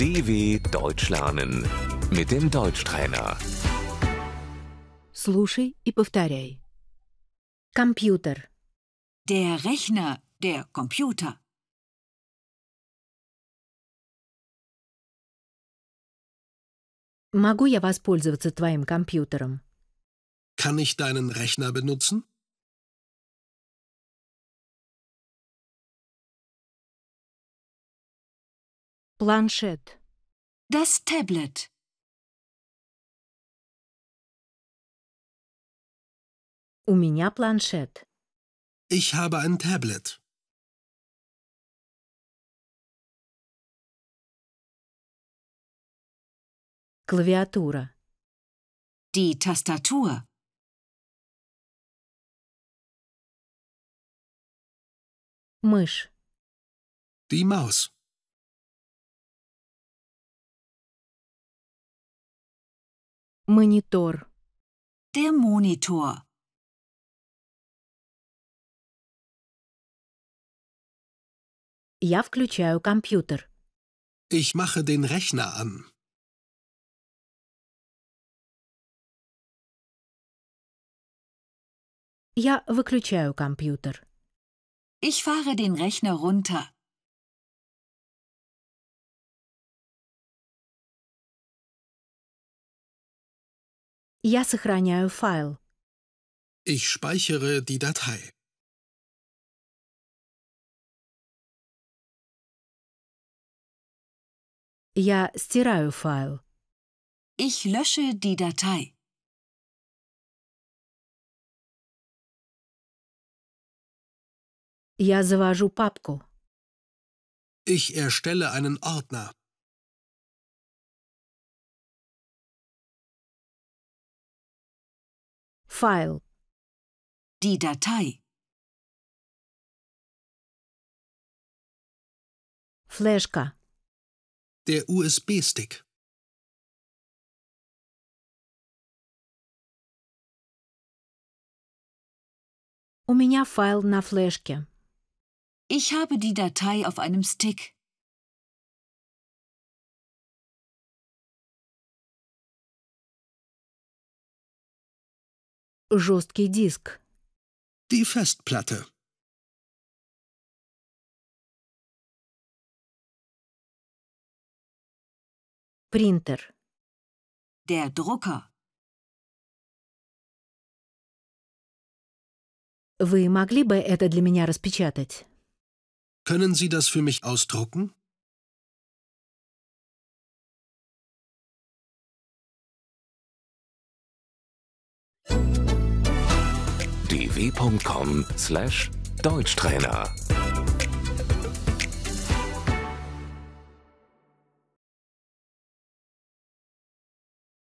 DW Deutsch lernen mit dem Deutschtrainer. Слушай и повторяй. Компьютер. Der Rechner, der Computer. Могу я воспользоваться твоим компьютером? Kann ich deinen Rechner benutzen? Планшет. Das Tablet. У меня планшет. Ich habe ein Tablet. Клавиатура. Die Tastatur. Мышь. Die Maus. Монитор. Der Monitor. Я включаю компьютер. Ich mache den Rechner an. Я выключаю компьютер. Ich fahre den Rechner runter. Я сохраняю файл. Ich speichere die Datei. Я стираю файл. Ich lösche die Datei. Я завожу папку. Ich erstelle einen Ordner. Файл. Die Datei. Флешка. Der USB-Stick. У меня файл на флешке. Ich habe die Datei auf einem Stick. Жесткий диск. Die Festplatte. Принтер. Der Drucker. Вы могли бы это для меня распечатать? Können Sie das für mich ausdrucken? dw.com/Deutschtrainer